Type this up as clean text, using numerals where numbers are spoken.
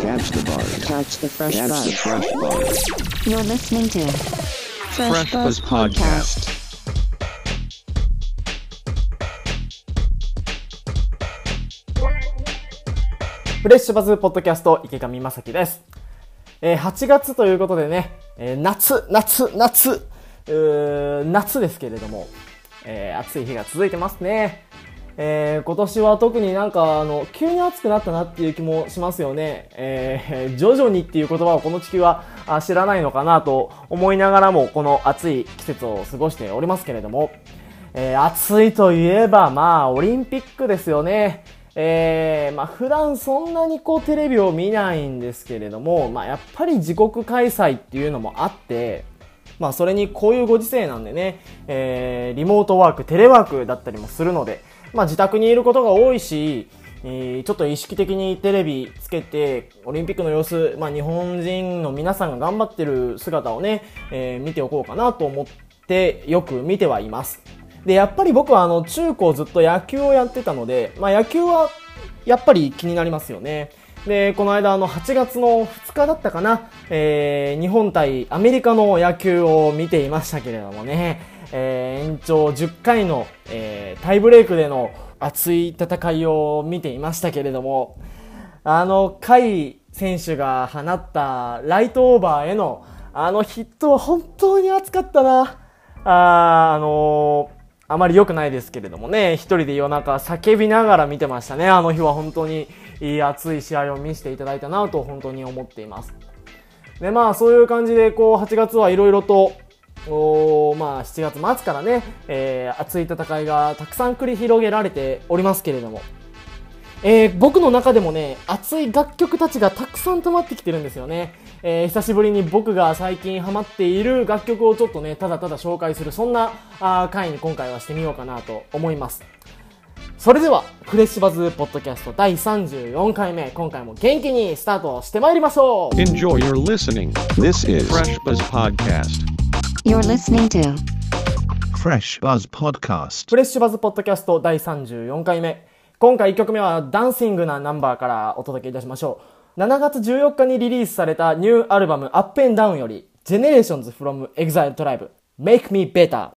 Catch the buzz. Catch the fresh Catch buzz. the fresh buzz. You're listening to Fresh Fresh Buzz Buzz Podcast. フレッシュバズポッドキャスト池上正樹です。8月ということでね、夏ですけれども、暑い日が続いてますね。今年は特になんか急に暑くなったなっていう気もしますよね。徐々にっていう言葉をこの地球は知らないのかなと思いながらもこの暑い季節を過ごしておりますけれども、暑いといえばオリンピックですよね。普段そんなにテレビを見ないんですけれども、やっぱり自国開催っていうのもあって、それにこういうご時世なんでね、リモートワーク、テレワークだったりもするので、自宅にいることが多いし、ちょっと意識的にテレビつけてオリンピックの様子、日本人の皆さんが頑張ってる姿をね、見ておこうかなと思ってよく見てはいます。で、やっぱり僕は中高ずっと野球をやってたので、野球はやっぱり気になりますよね。で、この間8月の2日だったかな、日本対アメリカの野球を見ていましたけれどもね、延長10回の、タイブレイクでの熱い戦いを見ていましたけれども、甲斐選手が放ったライトオーバーへのヒットは本当に熱かったな。あまり良くないですけれどもね、一人で夜中叫びながら見てましたね。あの日は本当にいい熱い試合を見せていただいたなと本当に思っています。で、そういう感じで8月はいろいろと7月末からね、熱い戦いがたくさん繰り広げられておりますけれども、僕の中でもね、熱い楽曲たちがたくさん溜まってきてるんですよね。久しぶりに僕が最近ハマっている楽曲をちょっとね、ただただ紹介する、そんな回に今回はしてみようかなと思います。それでは、フレッシュバズポッドキャスト第34回目、今回も元気にスタートしてまいりましょう。 Enjoy your listening. This is Fresh Buzz Podcast. You're listening to Fresh Buzz Podcast. フレッシュバズポッドキャスト第34回目。今回1曲目はダンシングなナンバーからお届けいたしましょう。7月14日にリリースされたニューアルバム Up and Down より Generations from Exile Tribe Make Me Better。